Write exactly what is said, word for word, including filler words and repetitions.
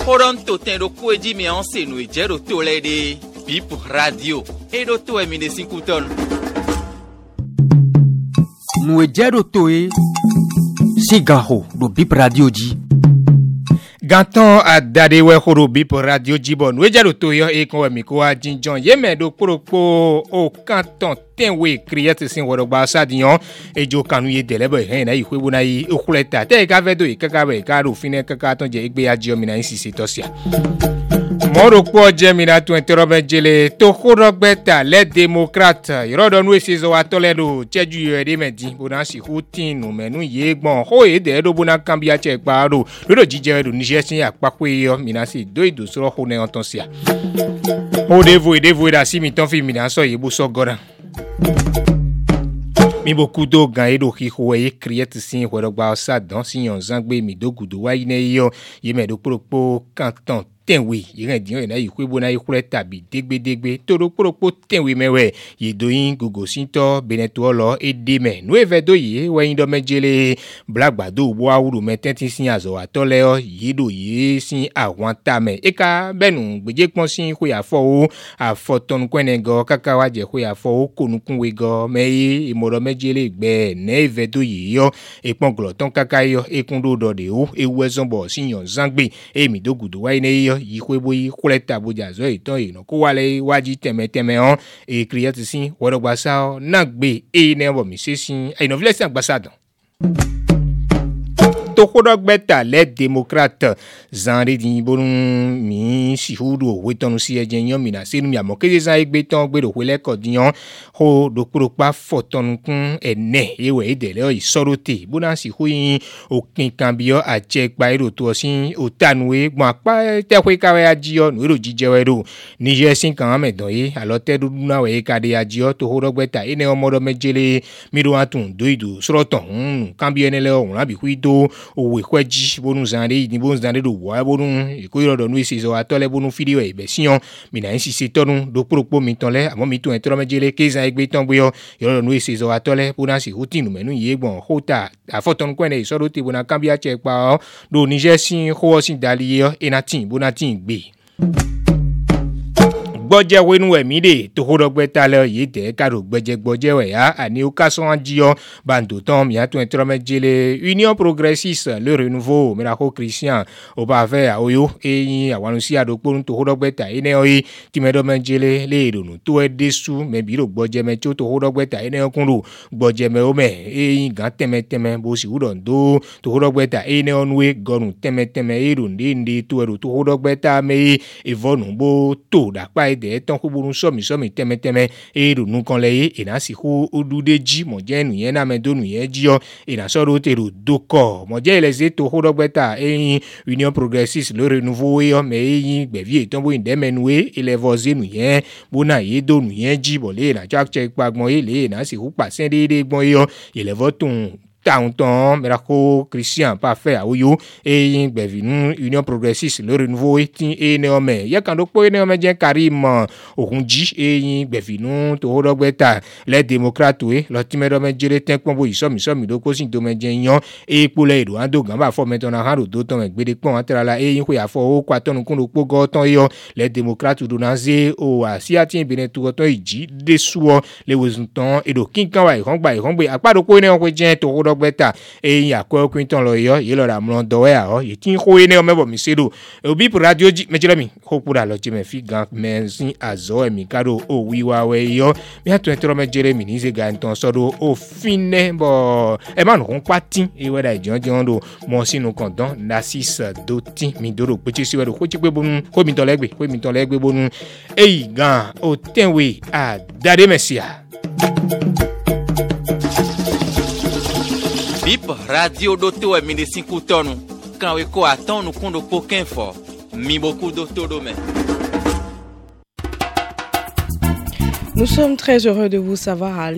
Horonto ten do kweji mi anse no ejero to lede. Bip radio. E do to e mi de cinco ton. No ejero to e. Sigaho do Bip radio di. Ganton a dade we horo Bip radio jibon we jaro to yo e kon mi ko ajinjon ye me do poropo o kanton tenwe create sin woro gba sadiyan ejo kanu ye delebo hen na ihwe bona yi okuleta te ka vedo e kaka we ka ro fine kaka ton je igbe aji omi na insisi tosia Moro po Gemina tu interrobe jele to khorogbeta les démocrates yodo nu esizo atoledo cheju yede medi bona si hutinu menu yegbon ho e de do bona kambia che paro do jije do Niger sin apakwe yo minasi do ido soro ho ne ontonsia o devo e devo da si mi ton fi mina so yebu so goran mi beaucoup do gan edo ki ho e create sin woro gba sa dan si yon zangbe mi do gudo wa ine yo ye me do propo canton tenwe yire diyan na yi kwebo na yi kure tabi degbe degbe toro poropo tenwe mewe yi doyin gogo sinto beneto lo edeme no evedo yi we ndo mejele blagba do bo awuru metenti sin azo atole o yi do yi sin àwọn tame eka benu gbeje pon sin ko ya fo o afoton kwenego kaka wa je ko ya fo o konukun we go meyi imoro mejele gbe ne evedo yi yo epon gloton kaka yo ekundo do de o ewu ezonbo sin yon zangbe emi do gudu wa ine yo yikwebo yi kuleta boja zo iton ino ko wale waji teme teme on e create sin woro gbasa na gbe e ne bo mi sesin e no vile san gbasa dan to khodogbeta les démocrates zanre din bonun mi si hudo wetonu si ejenyan mi na sinu mi amokeze san egbe ton gbe do wele kodiyan ho do propa fotonu kun ene ewe idele o isorote bona si huyin okin kan biyo aje pa ero to sin otanuwe gbon apa te kwe kawe ajiyo no ero jijewe do Niger sin kan medon yi alote dudu na we kade ajiyo to khodogbeta ene omodo mejele mi do atun do ido soroton kan biyo ene le o la bi huido owe kweji bonu zande ni bonu zande do wa bonu iko do nu isizo atole bonu video e be siyon mi na insisi tonu do propo mi tonle amo mi tu entro mejele keza egbe ton boyo yo nu isizo atole bona si hutinu menu yegbon hota afoton kwene isoro ti bona kambia che pa do Niger sin ho sin daliye enatin bonatin gbe gbọ́jẹ́ wenu ẹ̀mí dè tó hódọ́gbẹ́ta lọ yìí tẹ̀ káàró gbẹ́jẹ́ gbọ́jẹ́ wẹ̀ yá àní ó kásán jíọ́ bàǹdò tán mìíràn tó ń tẹ́rọ mẹ́jẹlẹ̀ Union progressiste le renouveau mìíràn Christian ó bá fẹ́ àwòyó eyín àwọn sí àdókòrò tó hódọ́gbẹ́ta yìí náà yìí tí mẹ́dọ́ mẹ́jẹlẹ̀ lè ronú tó ẹ dé sú mẹ́bí rò gbọ́jẹ́ mẹ́ tó hódọ́gbẹ́ta yìí náà kúrò gbọ́jẹ́ mẹ́ ó mẹ́ eyín gan tẹ́mẹ́tẹ́mẹ́ bó sì wúdọ̀ ndó tó hódọ́gbẹ́ta yìí náà nuwé gọ́nù tẹ́mẹ́tẹ́mẹ́ èrò ndéǹdé tó ẹ̀rọ tó hódọ́gbẹ́ta mẹ́ ìvọ́nù bó tó dàpá de ton ko burun somi somi teme teme e ro nu kan le e na si ko odude ji mo je nu yen na me do nu yen ji o e na so ro te ro doko mo je le se to ho dogbeta e Union progressiste le renouveau e o me yin gbevie ton bo inde menue e le voze nu yen bo na ye do nu yen ji bo le na chak chek pagbon e le na si hu pa sen de de gbon e o e le voton Taunton, Merako, Christian, parfait, Aouyo, et yin bevinu, Union progressiste, le renouveau, et néomé. Yakando po néomé jen Karim, Okunji, et yin bevinu, to hodogbeta, les démocrates, oui, l'optimé jere ten pombo, isom, isom, idoko, sin domaine yon, et pour les do, ando, gamba, fo, maintenant, hando, d'auton, et bede pon, entrala, et yin, kouya, fo, kwa ton, kondo, po, goton, yon, les démocrates, ou donaze, ou, asiatien, benetou, goton, iji, desou, les wezunton, et do, kinkan, wa, hongba, hongba, akpa, do, ko, néon, jen, to hodogbeta, et yin, akwa, kwinton, lo, yo, yelo, la, mlon, dowe, a, ye, tin, ko, ene, omebo, misedo, e, Bip radio, ji, me, jirami, hopura, lo, jeme, fi, gan, men, sin, azo, e, mi, kado, o, wiwa, we, yo, mi, hatu, entro, me, jere, mi, nize, ga, enton, sodo, o, fine, bo, e, man, ron, kwa, tin, e, weda, e, jon, jon, do, monsi, no, kondon, nasis, do, tin, mi, do, do, peche, si, wedo, ko, chikwe, bonu, ko, mi, ton, legbe, ko, mi, ton, legbe, bonu, e, gan, o, tenwe, a, dade, mesia. Bip radio doto e mine cinco tonu. Quand we ko aton nous kondo pokin fort. Mi beaucoup doto dome. Nous sommes très heureux de vous savoir à